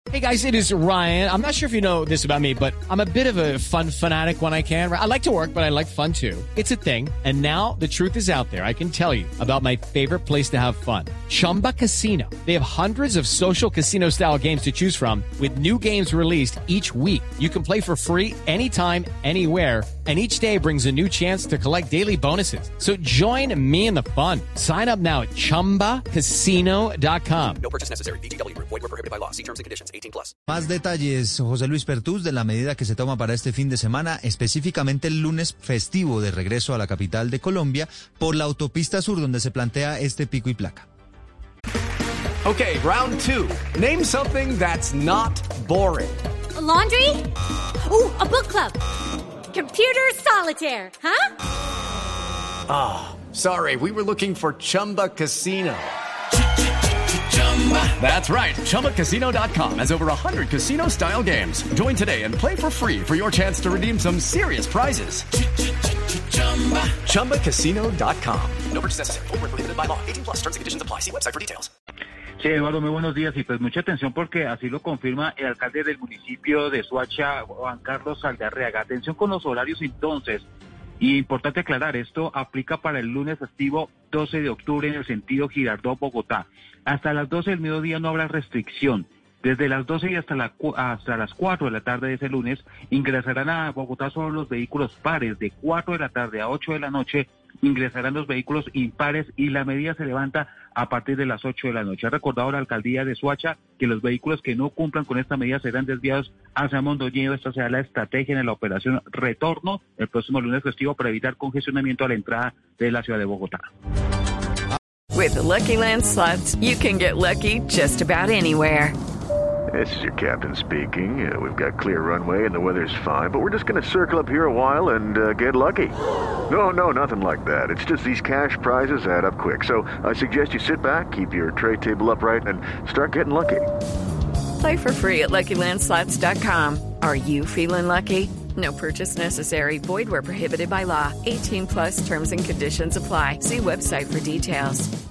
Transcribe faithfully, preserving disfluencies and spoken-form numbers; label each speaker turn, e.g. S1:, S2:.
S1: Hey guys, it is Ryan. I'm not sure if you know this about me, but I'm a bit of a fun fanatic when I can. I like to work, but I like fun too. It's a thing. And now the truth is out there. I can tell you about my favorite place to have fun. Chumba Casino. They have hundreds of social casino style games to choose from with new games released each week. You can play for free anytime, anywhere. And each day brings a new chance to collect daily bonuses. So join me in the fun. Sign up now at chumba casino dot com.
S2: No purchase necessary. V G W. Void where prohibited by law. See terms and conditions. eighteen plus.
S3: Más detalles, José Luis Pertús, de la medida que se toma para este fin de semana, específicamente el lunes festivo de regreso a la capital de Colombia por la autopista sur, donde se plantea este pico y placa.
S4: Okay, round two. Name something that's not boring.
S5: A laundry? Ooh, a book club. Computer solitaire, huh?
S4: Ah, oh, sorry, we were looking for Chumba Casino. That's right, Chumba Casino dot com has over one hundred casino-style games. Join today and play for free for your chance to redeem some serious prizes. Chumba Casino dot com.
S2: No purchase necessary. Void where prohibited by law. eighteen plus. Terms and conditions apply. See website for details.
S6: Sí, Eduardo, muy buenos días y pues mucha atención porque así lo confirma el alcalde del municipio de Soacha, Juan Carlos Saldarriaga. Atención con los horarios entonces. Y importante aclarar, esto aplica para el lunes festivo doce de octubre en el sentido Girardot-Bogotá. Hasta las doce del mediodía no habrá restricción. Desde las doce y hasta, la, hasta las cuatro de la tarde de ese lunes ingresarán a Bogotá solo los vehículos pares. De cuatro de la tarde a ocho de la noche ingresarán los vehículos impares y la medida se levanta a partir de las ocho de la noche. Ha recordado la alcaldía de Soacha que los vehículos que no cumplan con esta medida serán desviados hacia Mondoñedo. Esta será la estrategia en la operación Retorno el próximo lunes festivo para evitar congestionamiento a la entrada de la ciudad de Bogotá.
S7: With the Lucky Land Slots, you can get lucky just about anywhere.
S8: This is your captain speaking. Uh, we've got clear runway and the weather's fine, but we're just going to circle up here a while and uh, get lucky. No, no, nothing like that. It's just these cash prizes add up quick. So I suggest you sit back, keep your tray table upright, and start getting lucky.
S7: Play for free at Lucky Land Slots dot com. Are you feeling lucky? No purchase necessary. Void where prohibited by law. eighteen plus terms and conditions apply. See website for details.